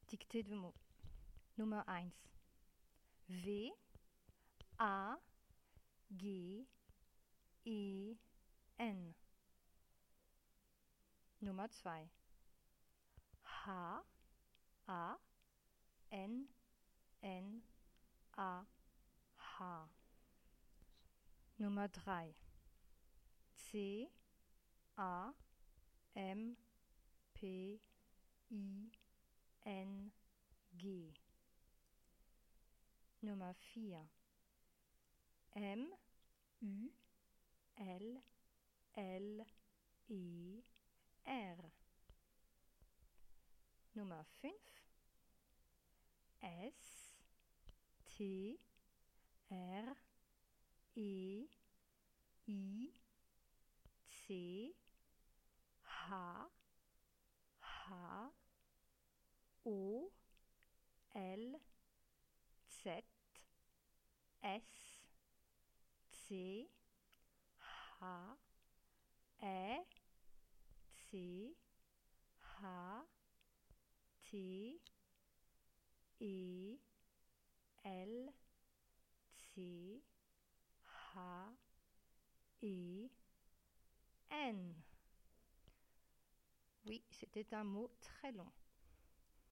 Dictée de mots. Nummer 1. W, A, G, E, N. Nummer 2. H, A, N, N, A, H. Nummer 3. C, A, M, P, I, N, G. Nummer 4. M, U, L, L, E, R. Nummer 5. S, T, R, E, I, C, H, H, O, L, Z, S, C, H, Ä, C, H, T, E, L, C, H, E, N. Oui, c'était un mot très long.